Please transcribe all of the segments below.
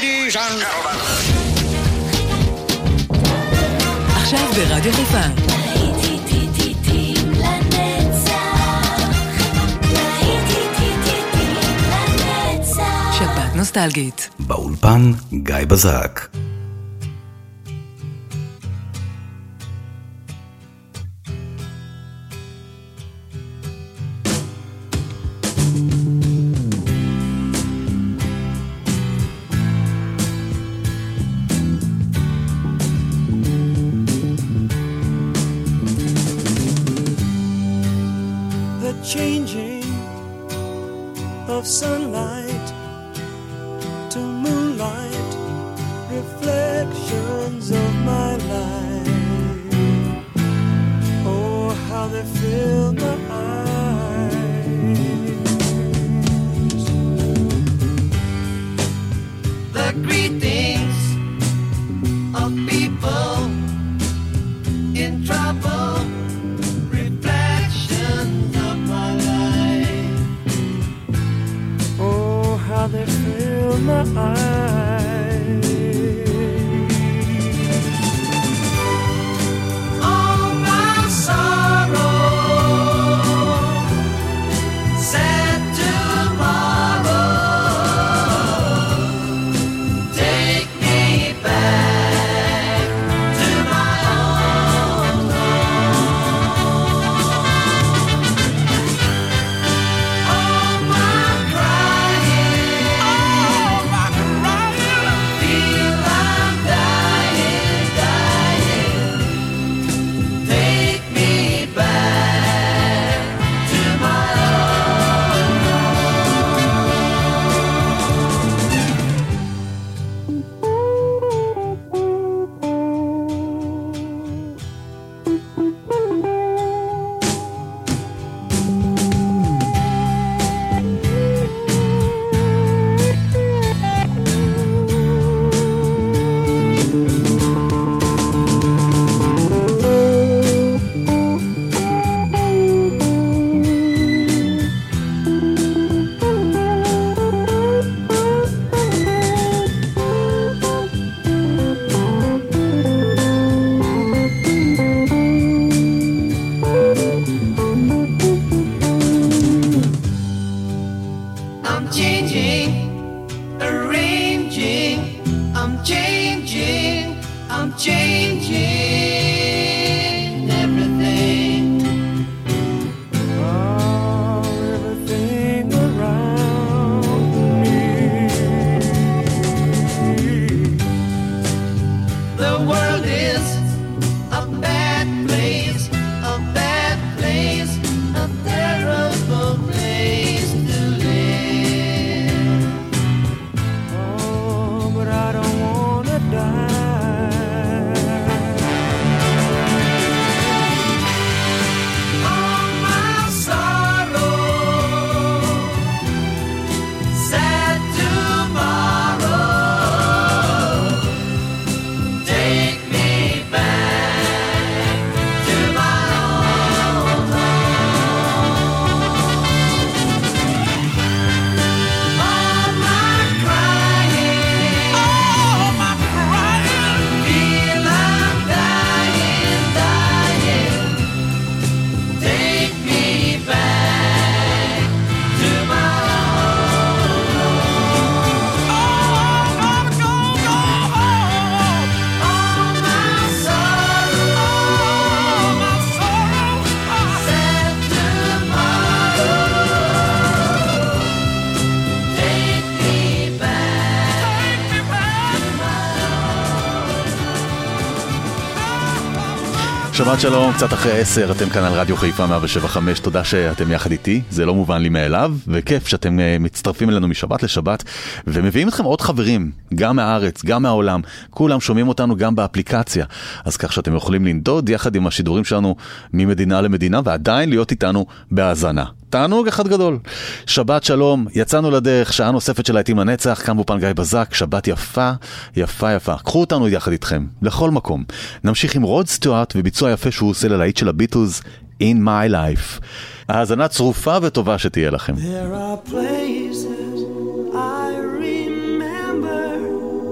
Ladies and gentlemen. עכשיו ברדיו חיפה. שבת נוסטלגית. באולפן גיא בזק. Changing of sunlight to moonlight, reflections of my life. Oh, how they fill my eyes. The greetings of people in trouble. They fill my eyes. All my sorrow, sad tomorrow, take me back to my own home. All my שבת שלום, קצת אחרי 10, אתם כאן על רדיו חיפה 107.5, תודה שאתם יחד איתי, זה לא מובן לי מאליו, וכיף שאתם מצטרפים אלינו משבת לשבת, ומביאים אתכם עוד חברים, גם מהארץ, גם מהעולם, כולם שומעים אותנו גם באפליקציה, אז כך שאתם יכולים לנדוד יחד עם השידורים שלנו ממדינה למדינה, ועדיין להיות איתנו בהאזנה. תענוג אחד גדול. שבת שלום, יצאנו לדרך, שעה נוספת של להיטים לנצח, כאן באולפן גיא בזק, שבת יפה, יפה יפה. קחו אותנו יחד איתכם, לכל מקום. נמשיך עם רוד סטיוארט וביצוע יפה שהוא עושה ללהיט של הביטלס, In My Life. האזנה צרופה וטובה שתהיה לכם. There are places I remember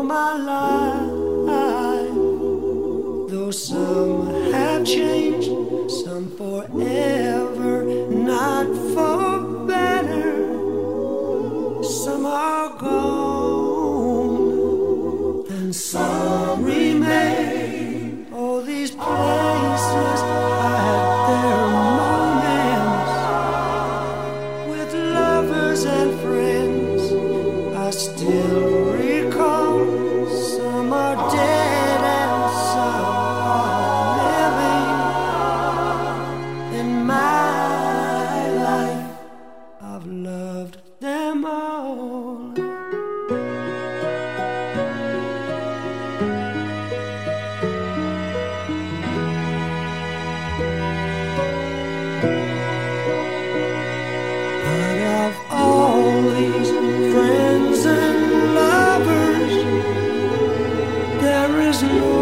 my life. Though some have changed, some forever, not for better. Some are gone, and some remain. Oh, these places I had their moments with lovers and friends. I still recall. Some are dead and some are living. In my life, I've loved them all. But of all these friends and lovers, there is no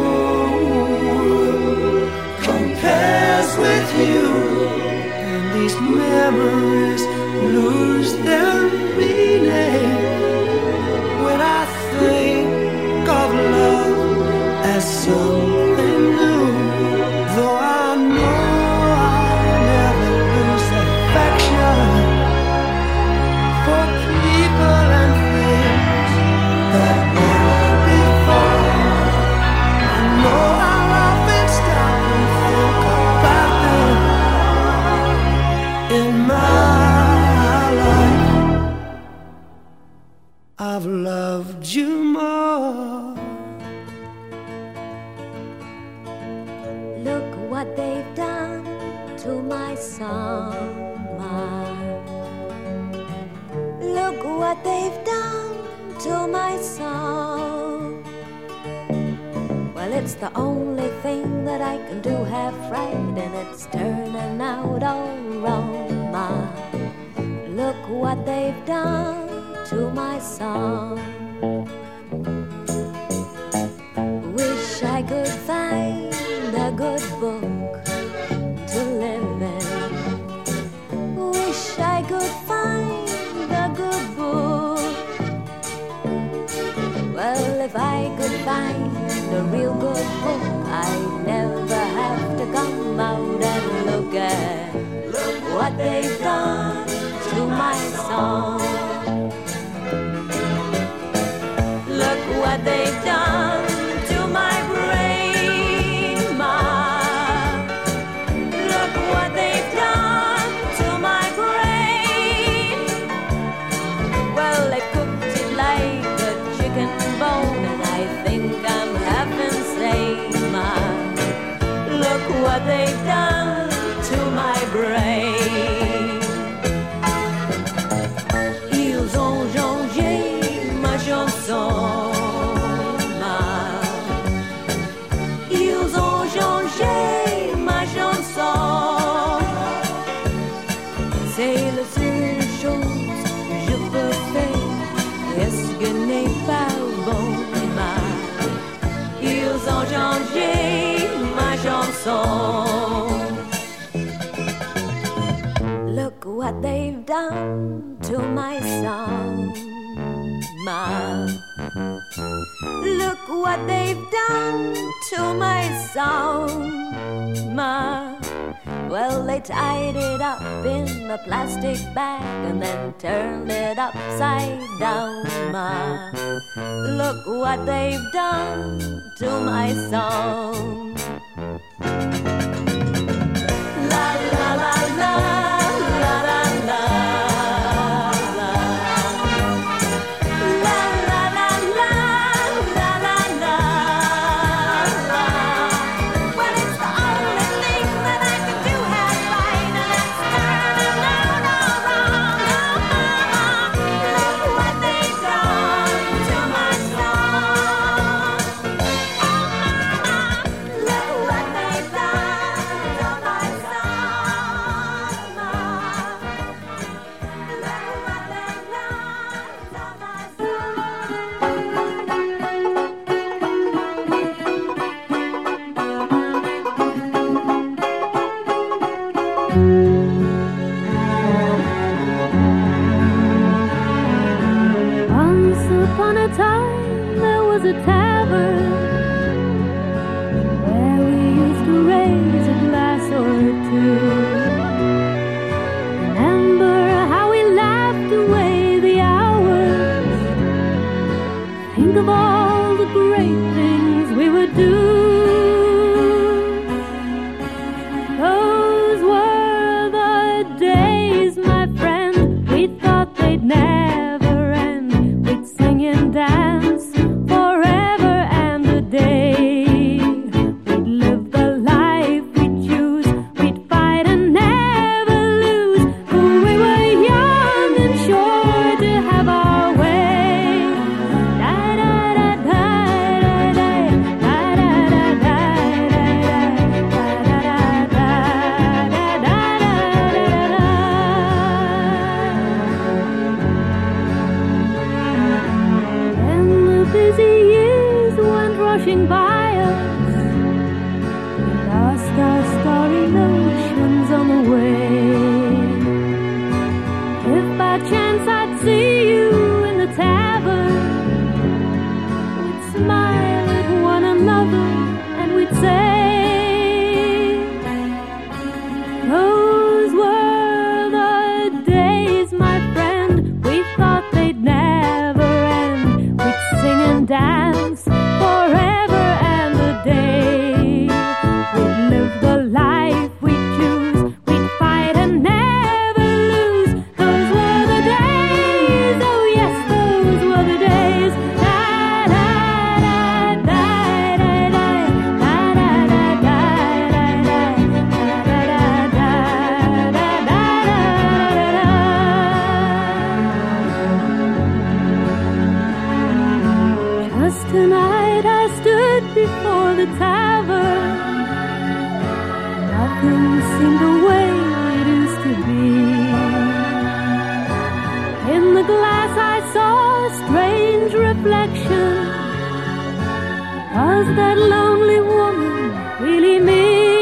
one compares with you. And these memories lose their meaning when I think of love as something new. Though I know I'll never lose affection for people and things that were before. I know I'll often stop and think about them. In my life, I've loved you more. Look what they've done to my summer. Look what they've done to my song. Well, it's the only thing that I can do half right, and it's turning out all wrong. Ma, look what they've done to my song. Wish I could find a good book to live in. Wish I could find a good book. Well, if I could find a real good book, I'd never have to come out and look what they've done to my song. Look what they've done to my brain, Ma. Look what they've done to my brain. Well, they cooked it like a chicken bone, and I think I'm half insane, Ma. Look what they've done to my brain. Ils ont changé ma chanson, Ma. Ils ont changé ma chanson. C'est la seule chose que je peux faire. Est-ce que n'est pas bon, Ma? Ils ont changé ma chanson. Look what they've done to my song, Ma. Look what they've done to my song, Ma. Well, they tied it up in a plastic bag and then turned it upside down, Ma. Look what they've done to my song. La la la la. Once upon a time there was was a tavern where we used to raise a glass or two. Remember how we laughed away the hours. Think of all the great things we would do. Those were the days, my friend, we thought they'd never end. We'd sing and dance forever and a day. We'd live the life we'd choose. We'd fight and never lose. For we were young and sure to have our way. Da da da da da da da da da When the busy years went rushing by us, we lost our starry notions on the way. If by chance I'd see you in the tavern, we'd smile at one another and we'd say, those were the days, my friend, we thought they'd never end. We'd sing and dance forever and a day. We'd live the life we'd choose. We'd fight and never lose. Those were the days, oh yes, those were the days. Da da da da da da da da da Just tonight I stood before the tavern. Nothing seemed the way it used to be. In the glass I saw a strange reflection. Was that lonely woman really me?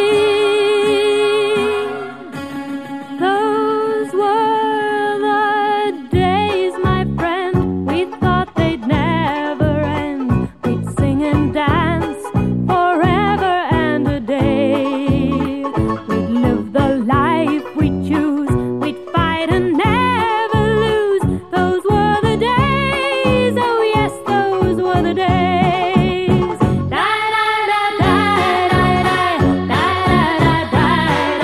Those were the days, my friend, we thought they'd never end. We'd sing and dance forever and a day. We'd live the life we'd choose. We'd fight and never lose. Those were the days, oh yes, those were the days. Da da da da da da da da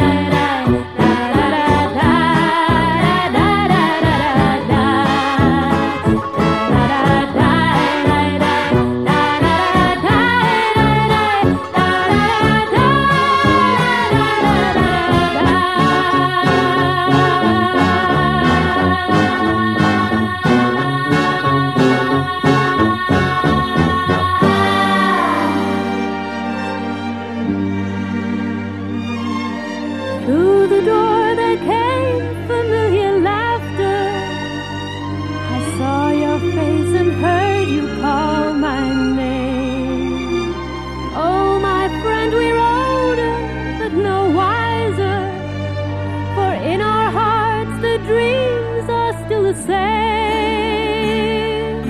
Through the door there came familiar laughter. I saw your face and heard you call my name. Oh, my friend, we're older, but no wiser. For in our hearts the dreams are still the same.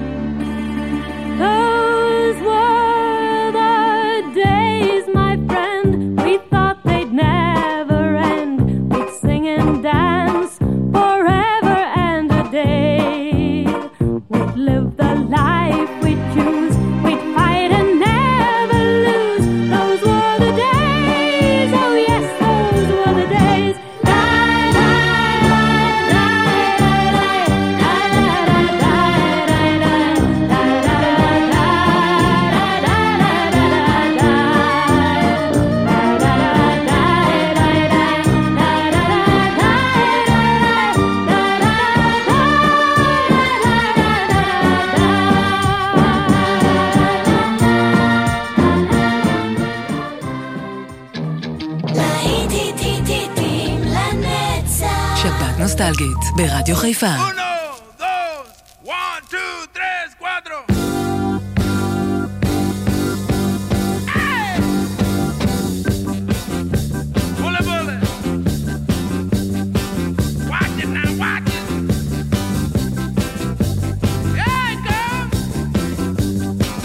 Those were the days, my friend, we thought they'd never end. We'd sing and dance forever and a day. We'd live the life we'd choose. We'd fight and never lose. Those were the days, oh yes, those were the days. Da da da da da da שבת נוסטלגית ברדיו חיפה. 1, 2, 1, 2, 3, 4. Bullet, bullet. Watch it now, watch it. Yeah, girl.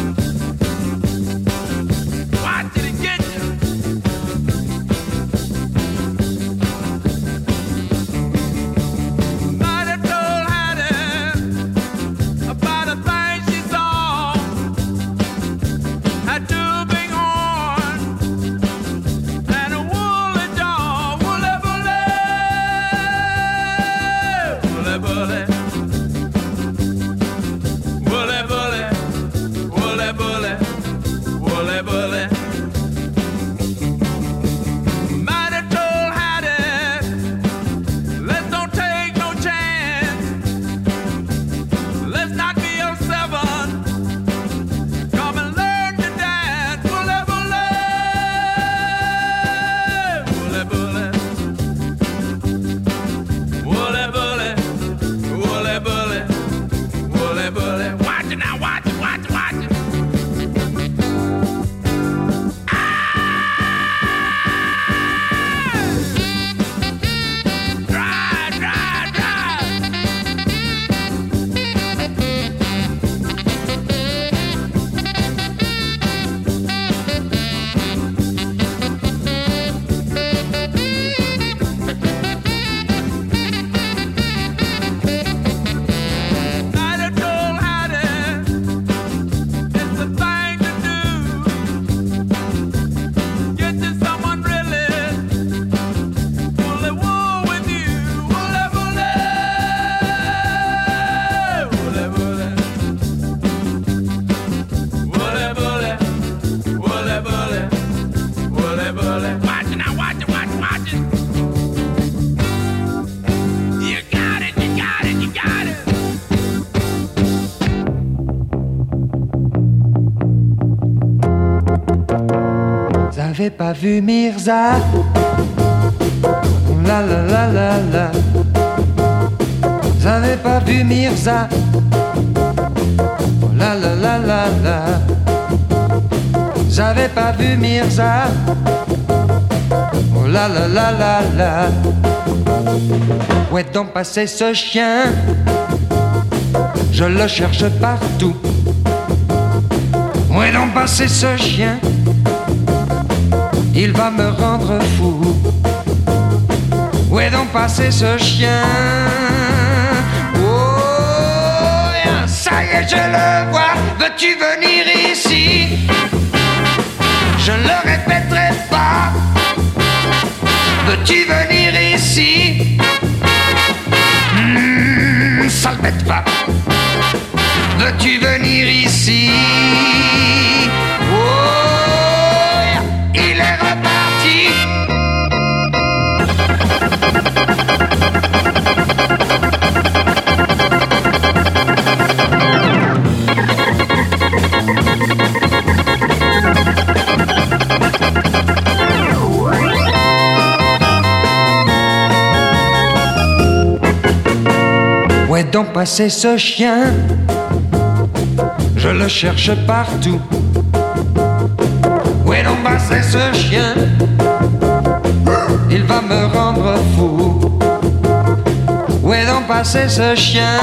J'avais pas vu Mirza. La la la la la. J'avais pas vu Mirza. La la la la la. J'avais pas vu Mirza. Oh la la la la la. Où est donc passé ce chien? Je le cherche partout. Où est donc passé ce chien? Il va me rendre fou. Où est donc passé ce chien? Oh, ça y est, je le vois. Veux-tu venir ici? Je le répéterai pas. Veux-tu venir ici? Sale bête va. Veux-tu venir ici? Oh, il est reparti. Où est donc passé ce chien? Je le cherche partout. Où est donc passé ce chien? Il va me rendre fou. Où est donc passé ce chien?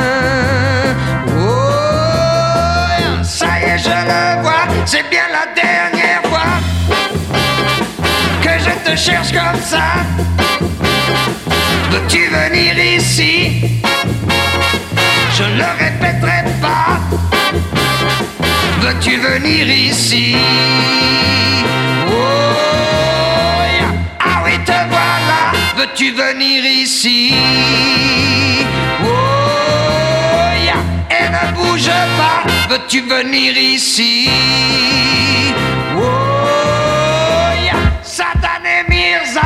Oh, ça y est, je le vois. C'est bien la dernière fois que je te cherche comme ça. Veux-tu venir ici? Je le répéterai pas. Veux-tu venir ici? Oh, yeah. Ah oui, te voilà. Veux-tu venir ici? Oh, yeah. Et ne bouge pas. Veux-tu venir ici? Oh, yeah. Satan et Mirza.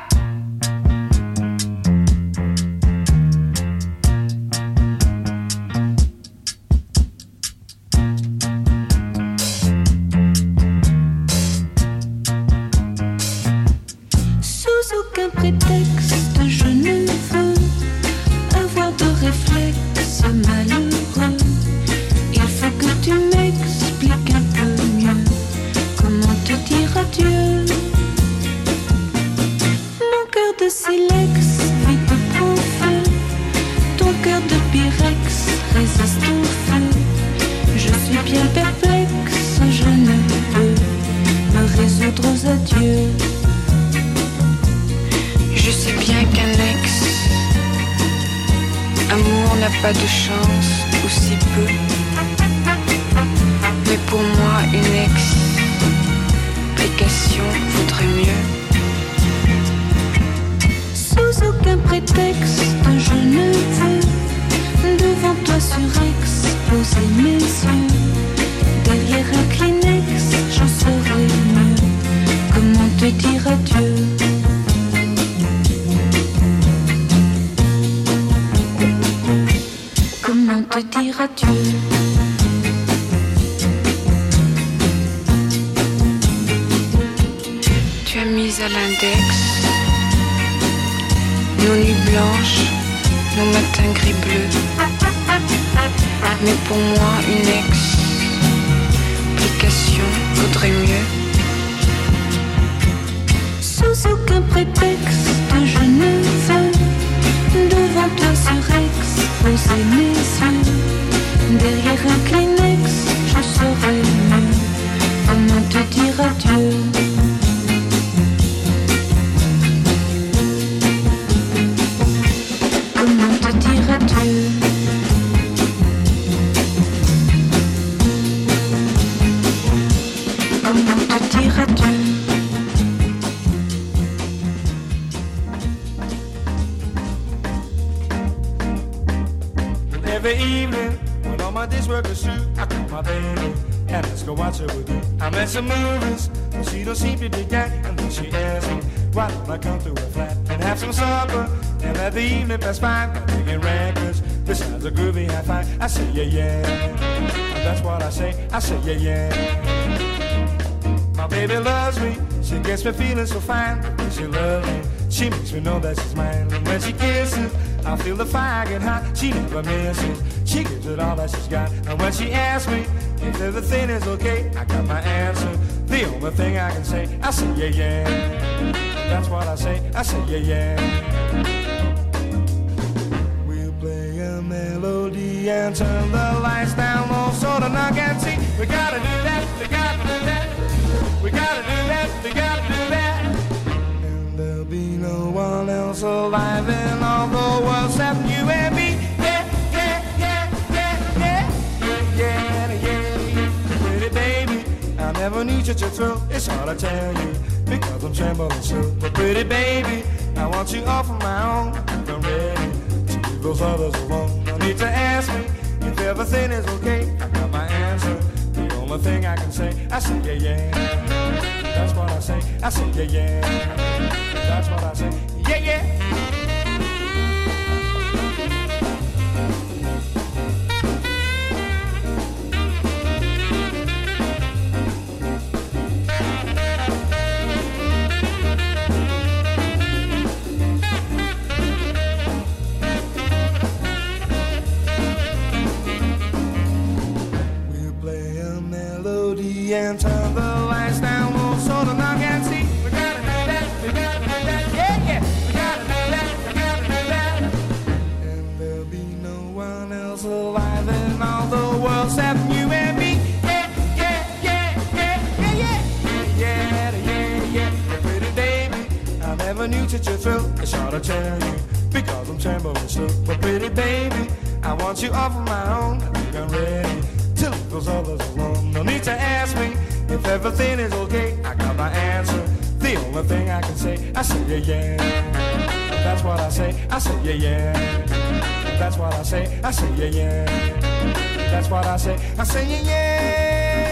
Prétexte, je ne veux avoir de réflexe malheureux. Il faut que tu m'expliques un peu mieux comment te dire adieu. Mon cœur de silex vite prend feu. Ton cœur de pyrex résiste au feu. Je suis bien perplexe, je ne peux me résoudre aux adieux. Je sais bien qu'un ex-amour n'a pas de chance, ou si peu. Mais pour moi, une explication vaudrait mieux. Sous aucun prétexte, je ne veux devant toi surexposer mes yeux. Derrière un Kleenex, j'en saurais mieux comment te dire adieu. Comment te dire adieu? Tu as mis à l'index nos nuits blanches, nos matins gris-bleus. Mais pour moi, une explication vaudrait mieux. Sous aucun prétexte, je ne veux devant toi surexposer mes yeux. Derrière un Kleenex, je saurais mieux comment te dire adieu. Comment te dire adieu? Comment te dire adieu? Every evening, when all my days work are through, I call my baby and ask her what's her with you. I'm at some movies, but she don't seem to dig that. And then she asks me, why don't I come to her flat and have some supper? And let the evening pass by, I'm taking records, besides a groovy high five. I say, yeah, yeah, and that's what I say yeah. My My baby loves me, she gets me feeling so fine. When she loves me, she makes me know that she's mine. And when she kisses, I feel the fire get hot. She never misses, she gives it all that she's got. And when she asks me if everything is okay, I got my answer. The only thing I can say, I say yeah, yeah. That's what I say yeah, yeah. We'll play a melody and turn the lights down low so the knock can see. We gotta do that, we gotta do that. We gotta do that, we gotta do that. And there'll be no one else alive in all the world except you and me. Yeah, yeah, yeah, yeah, yeah. Yeah, yeah, yeah. Pretty baby, I never need you to thrill. It's hard to tell you because I'm trembling so. But pretty baby, I want you all for my own. I'm ready to leave those others alone. No need to ask me if everything is okay. I got my answer. The only thing I can say, I say yeah, yeah. That's what I say yeah, yeah. That's what I say, yeah, yeah. And turn the lights down low so the knock can see. We gotta do that, we gotta do that, yeah, yeah. We gotta do that, we gotta do that. And there'll be no one else alive in all the world except you and me. Yeah, yeah, yeah, yeah, yeah, yeah. Yeah, yeah, yeah. Pretty baby, I never knew such a thrill. It's hard to tell you because I'm trembling still. But pretty baby, I want you all for my own. I think I'm ready to leave those others alone. No need to ask me if everything is okay. I got my answer. The only thing I can say, I say yeah, yeah. That's what I say yeah, yeah. That's what I say yeah, yeah. That's what I say yeah, yeah.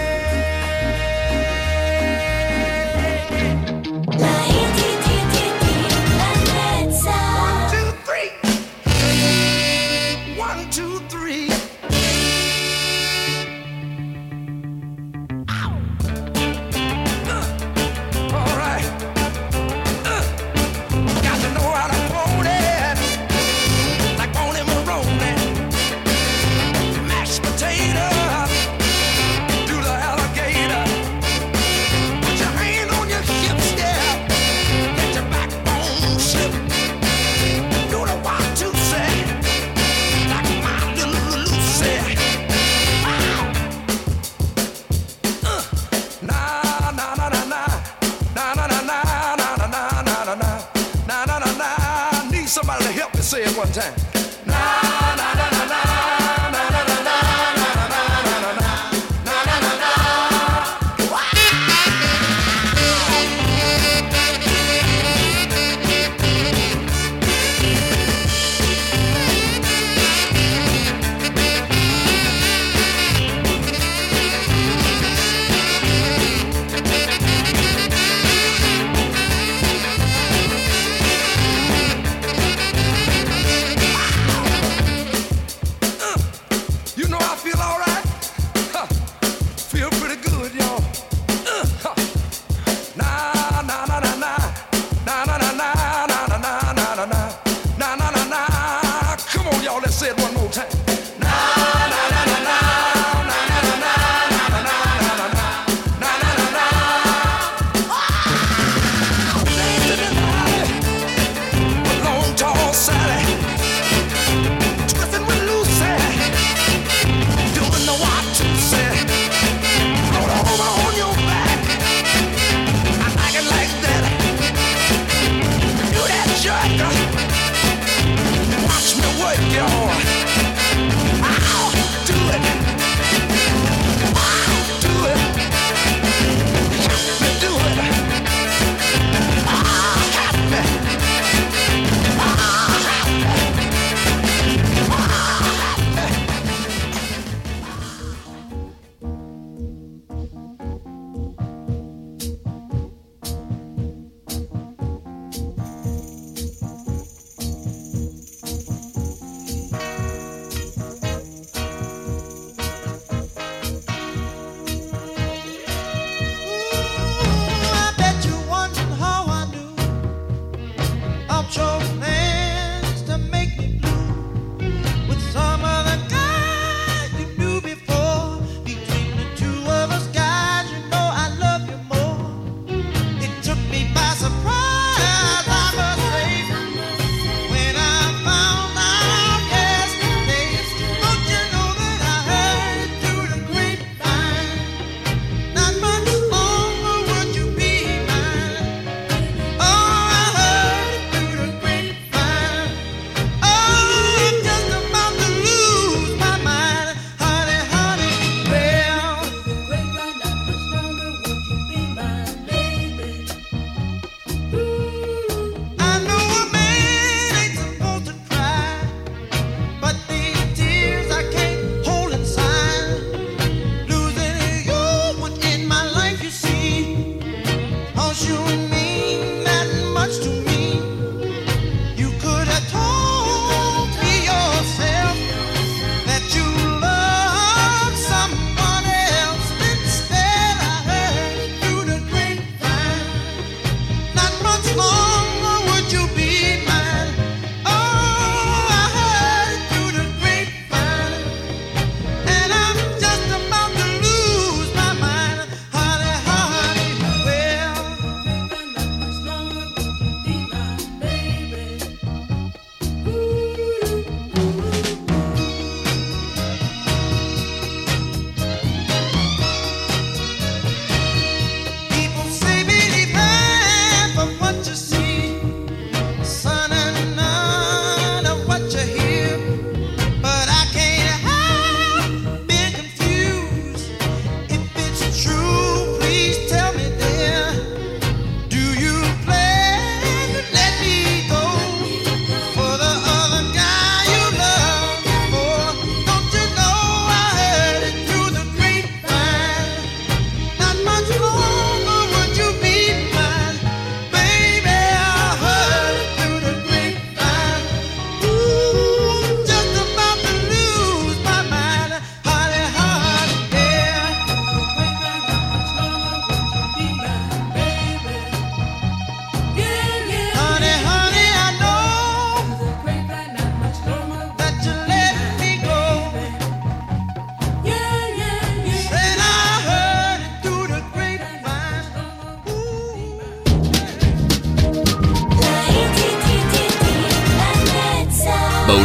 Say it one time.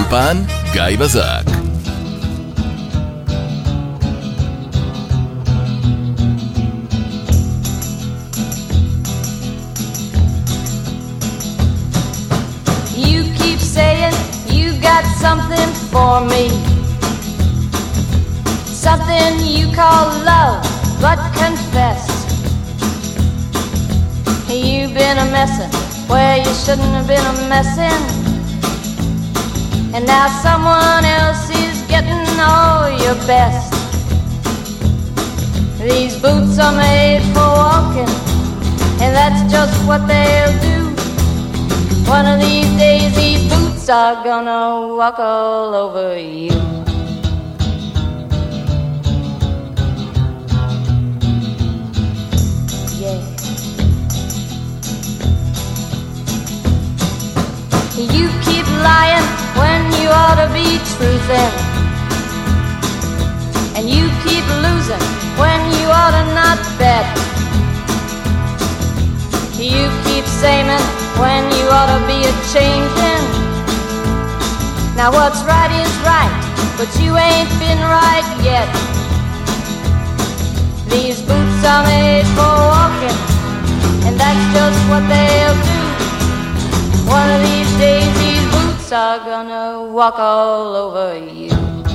באולפן גיא בזק. You keep saying you got something for me, something you call love, but confess you've been a messin' where you shouldn't have been a messin', and now someone else is getting all your best. These boots are made for walking, and that's just what they'll do. One of these days these boots are gonna walk all over you. Yeah. You keep lying when you ought to be truthing, and you keep losing when you ought to not bet. You keep saying when you ought to be a-changing. Now what's right is right, but you ain't been right yet. These boots are made for walking, and that's just what they'll do. One of these days these boots are gonna walk all over you.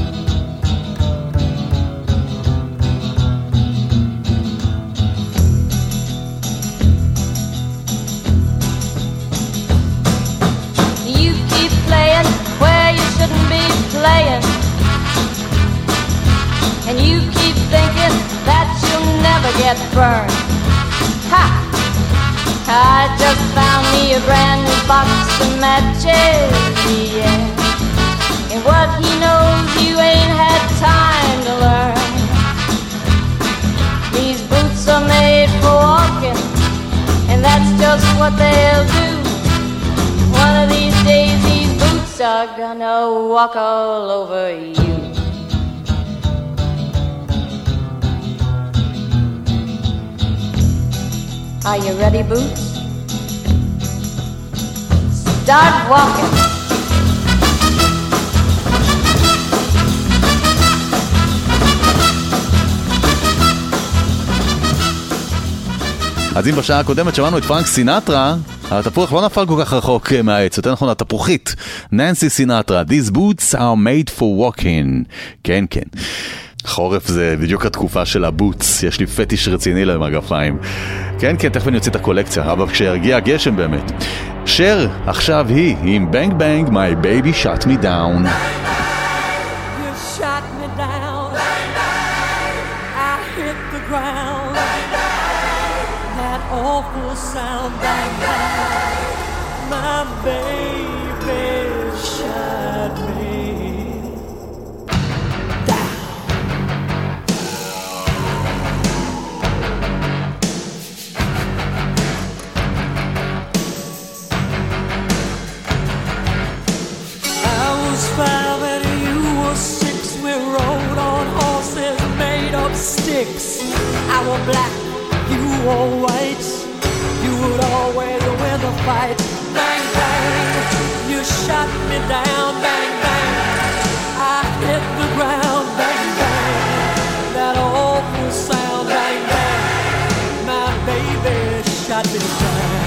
You keep playing where you shouldn't be playing, and you keep thinking that you'll never get burned. Ha! I just found me a brand new box of matches, yeah. And what he knows you ain't had time to learn. These boots are made for walking, and that's just what they'll do. One of these days these boots are gonna walk all over you. Are you ready, Boots? Start walking. אז אם בשעה הקודמת שמענו את פרנק סינטרה, התפוח לא נפל כל כך רחוק מהעץ, יותר נכון התפוחית. ננסי סינטרה, These boots are made for walking. כן, כן. חורף זה בדיוק התקופה של הבוטס, יש לי פטיש רציני למגפיים. כן, כן, תכף אני יוצא את הקולקציה, אבל כשירגיע הגשם באמת. שר, עכשיו היא, עם בנג בנג, My baby shut me down. You shot me down. I hit the ground. That awful sound, bang bang. My baby shut me. Five and you were six. We rode on horses made of sticks. I were black, you were white. You would always win the fight. Bang bang, you shot me down. Bang bang, I hit the ground. Bang bang, that awful sound. Bang bang, my baby shot me down.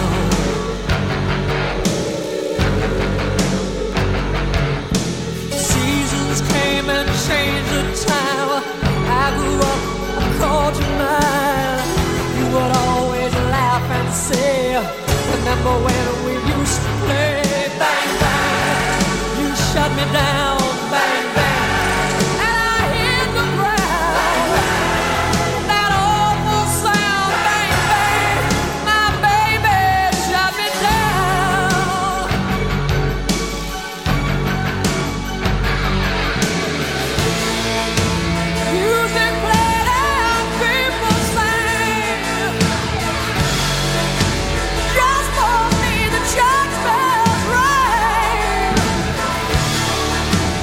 Came and changed the time. I grew up, I called you mine. You would always laugh and say, remember when we used to play? Bang, bang, you shut me down. Bang, bang, and I hit the ground. That awful sound. Bang, bang, my baby shut me down. Music played and people sang. Just for me the church bells rang.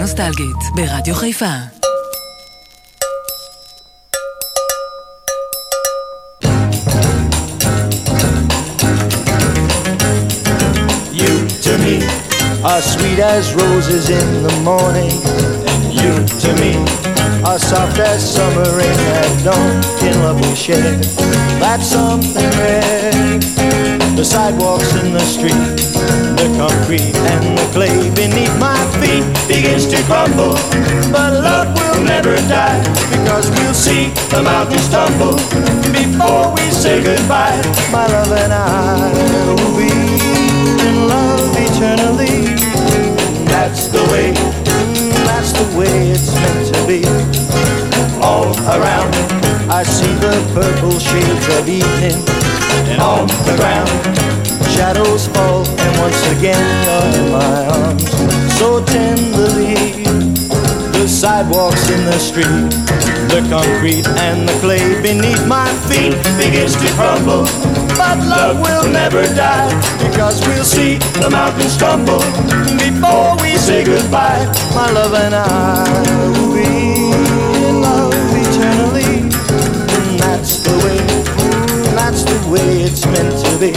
נוסטלגית ברדיו חיפה. You to me are sweet as roses in the morning, and you to me are soft as summer rain at dawn. In love we share, that's something rare. The sidewalks in the street, the concrete and the clay beneath my feet begins to crumble, but love will never die, because we'll see the mountains tumble before we say goodbye. My love and I will be in love eternally. That's the way it's meant to be. All around I see the purple shades of evening, and on the ground shadows fall, and once again you're in my arms so tenderly. The sidewalks in the street, the concrete and the clay beneath my feet begins to crumble, but love will never die, because we'll see the mountains tumble before we say goodbye. My love and I will be in love eternally. And that's the way it's meant to be.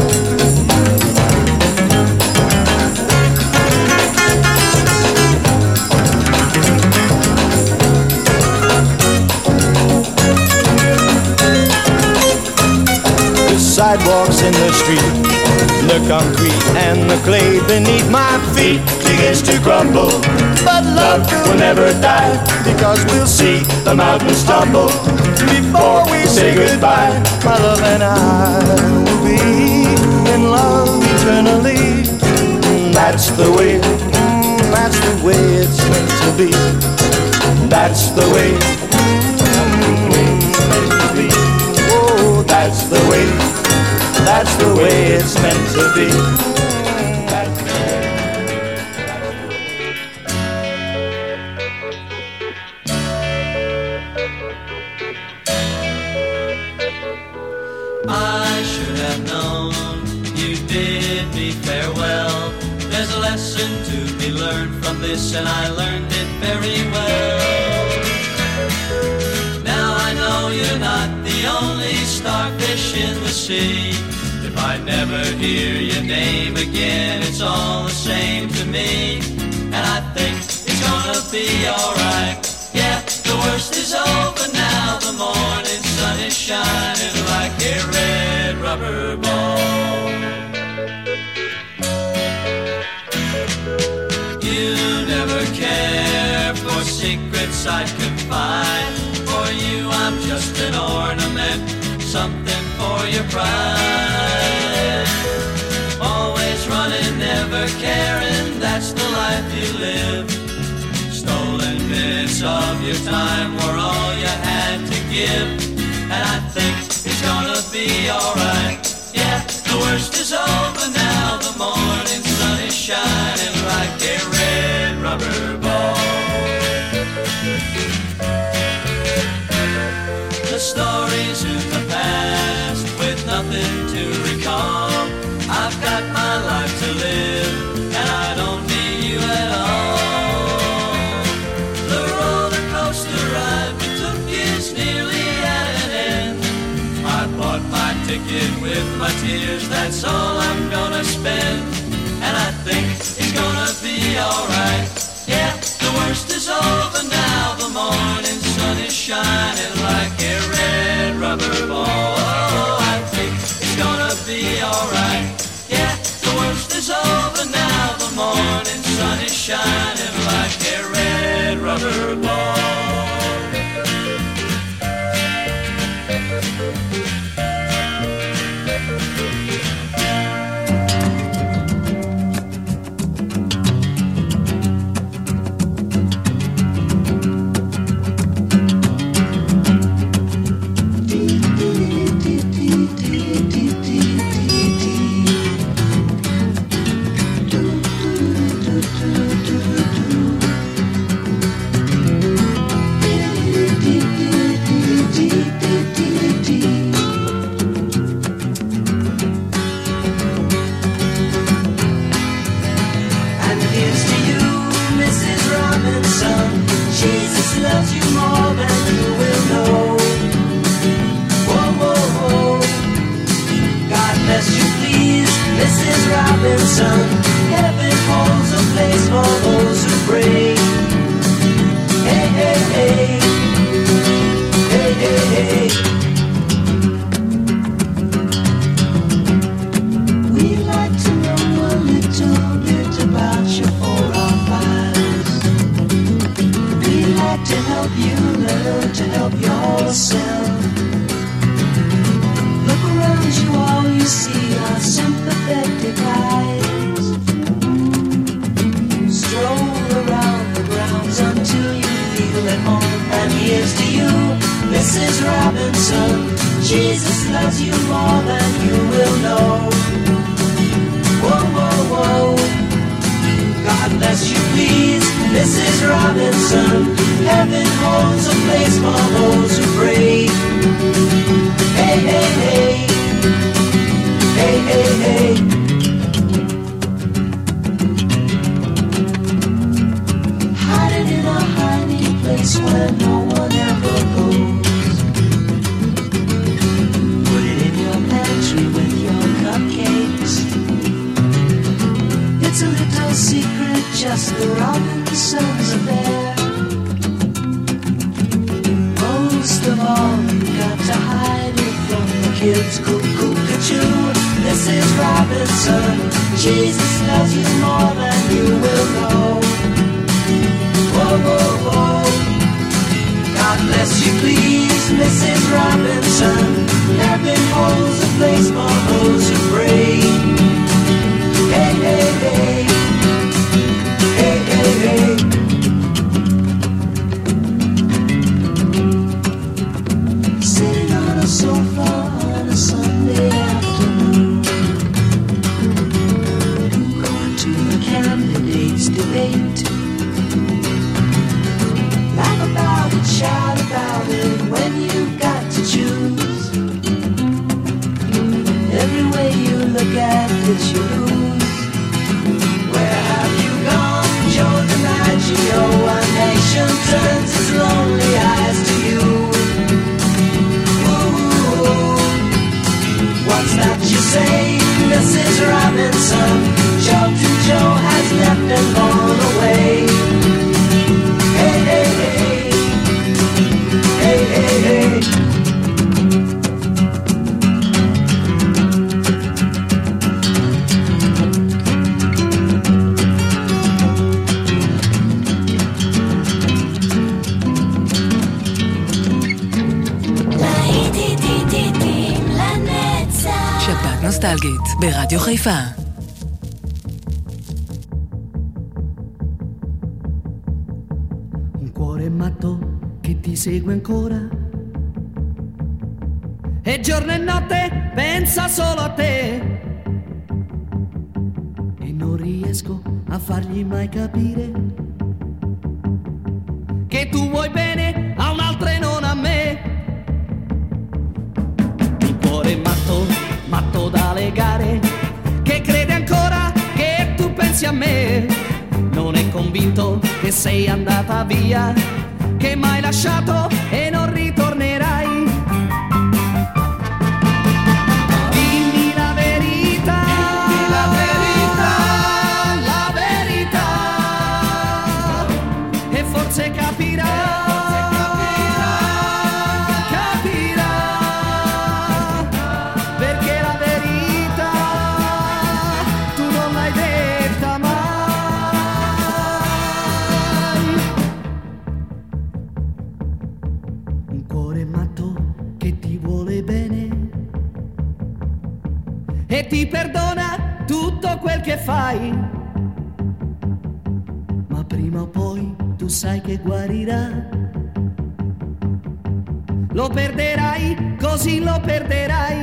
Sidewalks in the street, the concrete and the clay beneath my feet begins to crumble, but love will never die, because we'll see the mountains tumble before we say goodbye. My love and I will be in love eternally. That's the way it's meant to be. That's the way it's meant to be. Oh, that's the way it's meant to be. I should have known you bid me farewell. There's a lesson to be learned from this, and I learned it very well. Now I know you're not the only starfish in the sea. If I never hear your name again, it's all the same to me. And I think it's gonna be alright. Yeah, the worst is over now. The morning sun is shining like a red rubber ball. You never care for secrets I'd confide. For you I'm just an ornament, something for your pride. Always running, never caring, that's the life you live. Stolen minutes of your time were all you had to give. And I think it's gonna be alright. Yeah, the worst is over now. The morning sun is shining like a red rubber ball. The stories in the past with nothing to recall. I've got my life to live, and I don't need you at all. The roller coaster ride we took is nearly at an end. I bought my ticket with my tears, that's all I'm gonna spend. And I think it's gonna be alright. Yeah, the worst is over now. The morning sun is shining like a red rubber ball. Oh, I think it's gonna be alright. Yeah, the worst is over now. The morning sun is shining like a red rubber ball. Mrs. Robinson. Heaven holds a place for those who pray. Hey, hey, hey. Hey, hey, hey. We'd like to know a little bit about you for our files. We'd like to help you learn to help yourself. Look around you, all you see are sympathetic eyes. Stroll around the grounds until you feel at home. And here's to you, Mrs. Robinson. Jesus loves you more than you will know. Whoa, whoa, whoa. God bless you, please, Mrs. Robinson. Heaven holds a place for those who pray. Hey, hey, hey. Hey, hey, hey. Hiding in a hiding place where no one ever goes. Put it in your pantry with your cupcakes. It's a little secret, just the Robinsons affair. Most of all, you got to hide it from the kids. Cuckoo-ca-choo, Mrs. Robinson. Jesus loves you more than you will know. Whoa, whoa, whoa. God bless you, please, Mrs. Robinson. Heaven holds a place for those who pray. Hey, hey, hey. Hey, hey, hey. Sitting on a sofa on a Sunday afternoon, going to the candidates' debate. Laugh about it, shout about it when you've got to choose. Every way you look at it, you lose. Where have you gone, Joe DiMaggio? A nation turns its lonely eyes to you. Ooh, what's that you say, Mrs. Robinson? Joe to Joe has left and gone away. Hey, hey, hey. Hey, hey, hey. שבת נוסטלגית ברדיו חיפה. Un cuore matto che ti segue ancora e giorno e notte pensa solo a te e non riesco a fargli mai capire che tu vuoi bene a un'altra e non a me. Un cuore matto, matto da legare, che crede ancora che tu pensi a me. Non è convinto che sei andata via, che m'hai lasciato e non ritornerai. Dimmi la verità, la verità, la verità, e forse capirà, capirà, perché la verità tu non l'hai detta mai. Un cuore matto che ti vuole bene e ti perdona tutto quel che fai, ma prima o poi tu sai che guarirà. Lo perderai, così lo perderai.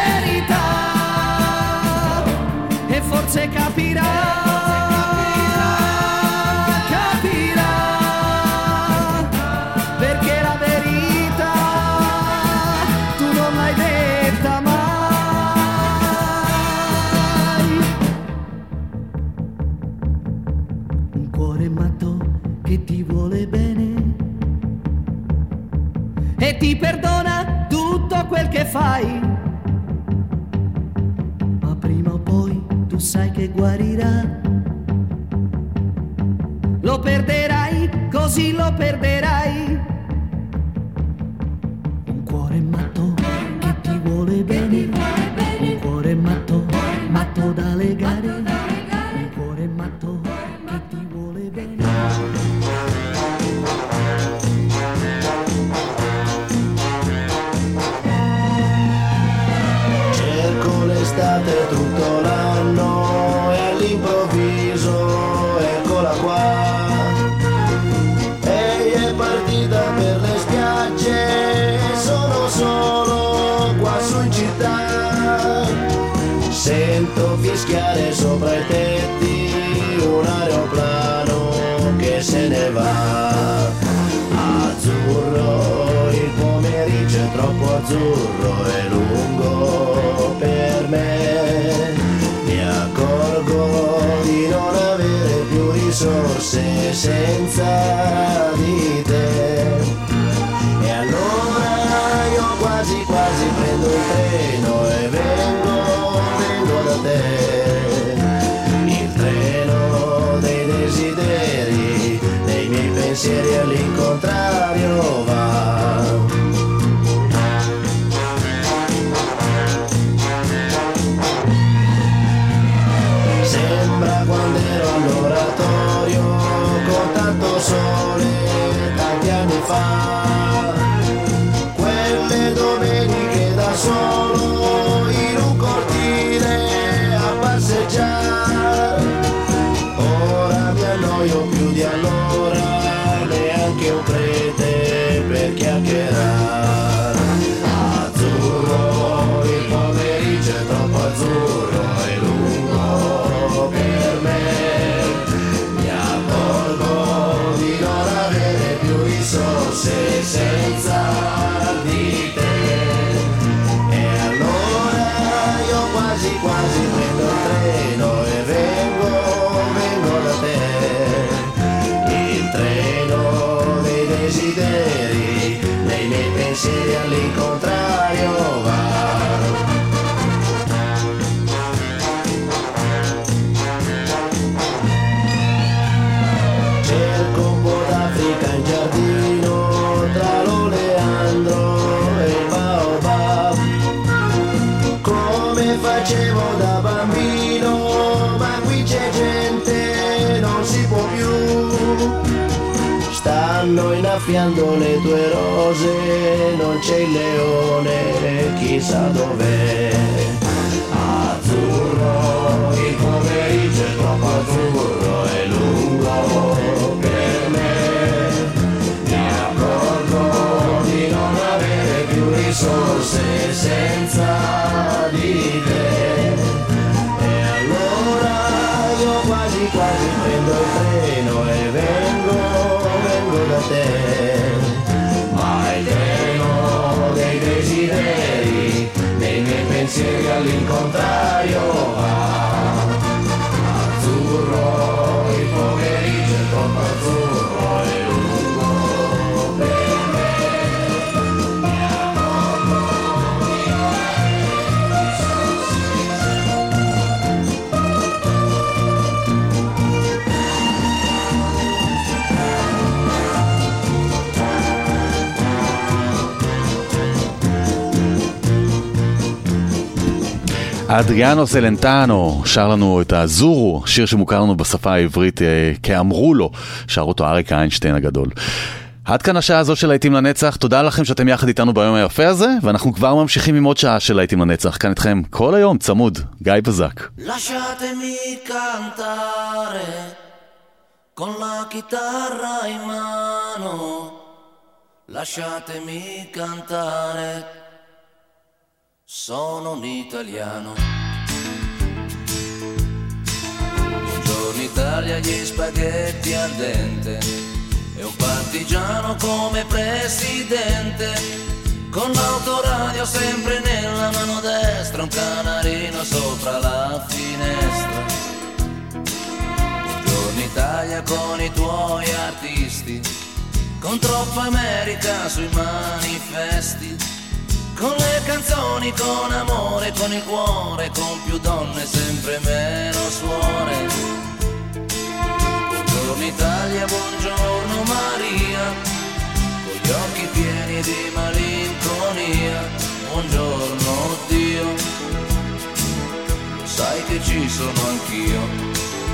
Forse capirà, cuore matto che ti vuole bene e ti perdona tutto quel che fai, ma prima o poi tu sai che guarirà. Lo perderai, così lo perderai. Un cuore matto che ti vuole bene, un cuore matto, matto da legare, un cuore matto che ti vuole bene. Cerco l'estate tutto l'anno e all'improvviso eccola qua. Lei è partita per le spiagge, sono solo qua su in città. Sento fischiare sopra i tetti un aeroplano che se ne va. Azzurro, il pomeriggio è troppo azzurro e lungo per me. Mi accorgo di non avere più risorse senza di te. E allora io quasi quasi prendo il treno e vengo da te. Il treno dei desideri, dei miei pensieri all'incontrario va. Sembra quando ero all'oratorio con tanto sole tanti anni fa, quelle domeniche da solo in un cortile a passeggiare. Ora mi annoio più di allora, neanche un prete per chiacchierare. Azzurro, il pomeriggio è troppo azzurro e lungo per me. Mi accorgo di non avere più risorse senza di te. E allora io quasi quasi prendo il treno e vengo da te. Il treno dei desideri, dei miei pensieri all'incontrario va. Cerco un po' d'Africa in giardino tra l'oleandro e il baobab, come facevo da bambino, ma qui c'è gente, non si può più. Stanno innaffiando le tue rose, non c'è il leone, chissà dov'è. Azzurro, il pomeriggio è troppo azzurro e lungo per me. Mi accorgo di non avere più risorse senza di te. E allora io quasi quasi prendo il treno e vengo da te. Ma il treno dei desideri, dei miei pensieri all'incontrario va. Azzurro, il pomeriggio è troppo azzurro e lungo per me. Mi accorgo di non avere אדריאנו סלנטנו שר לנו את הזורו, שיר שמוכר לנו בשפה העברית כאמרו לו, שר אותו אריק איינשטיין הגדול. עד כאן השעה הזו של להיטים לנצח, תודה לכם שאתם יחד איתנו ביום היפה הזה, ואנחנו כבר ממשיכים עם עוד שעה של להיטים לנצח, כאן איתכם כל היום צמוד, גיא בזק. Lasciatemi cantare con la chitarra in mano, lasciatemi cantare, sono un italiano. Buongiorno Italia, gli spaghetti al dente e un partigiano come presidente, con l'autoradio sempre nella mano destra, un canarino sopra la finestra. Buongiorno Italia, Italia con i tuoi artisti, con troppa America sui manifesti, con le canzoni, con amore, con il cuore, con più donne, sempre meno suore. Buongiorno Italia, buongiorno Maria, con gli occhi pieni di malinconia. Buongiorno Dio, lo sai che ci sono anch'io.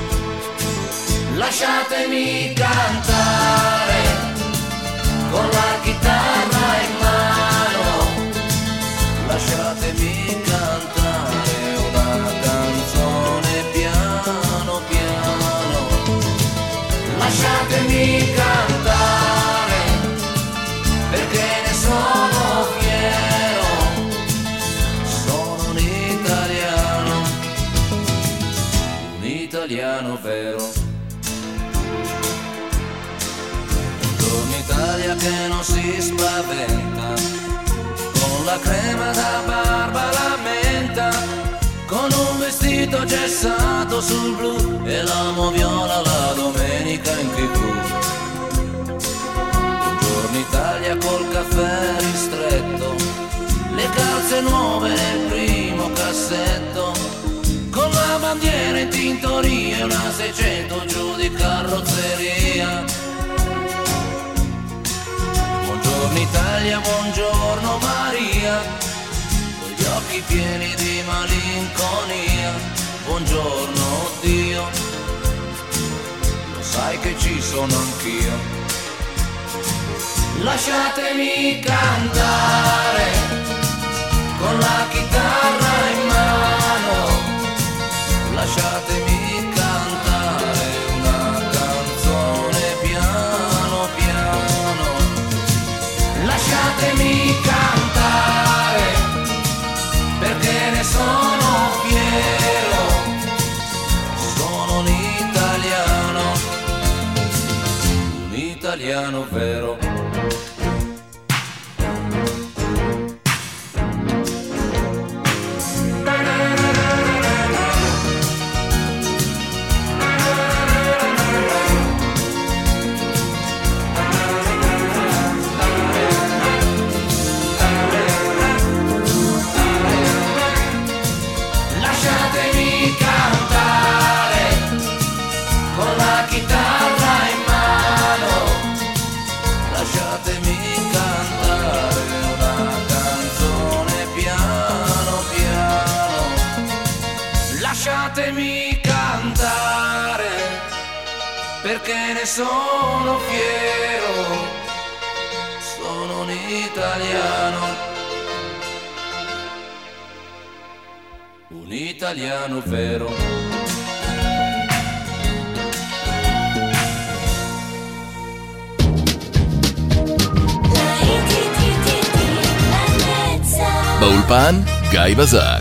Lasciatemi cantare con la chitarra in mano, lasciatemi cantare una canzone piano piano, lasciatemi cantare perché ne sono fiero, sono un italiano vero. Italia che non si spaventa, con la crema da barba la menta, con un vestito gessato sul blu e la moviola la domenica in TV. Buongiorno Italia col caffè ristretto, le calze nuove nel primo cassetto, con la bandiera in tintoria e una 600 giù di carrozzeria. Buongiorno Italia, buongiorno Maria, con gli occhi pieni di malinconia. Buongiorno Dio, lo sai che ci sono anch'io. Lasciatemi cantare con la chitarra in mano, lasciatemi cantare una canzone piano piano. Lasciatemi cantare perché ne sono fiero, sono un italiano vero. Lasciatemi cantare perché ne sono fiero, sono un italiano vero. באולפן גיא בזק.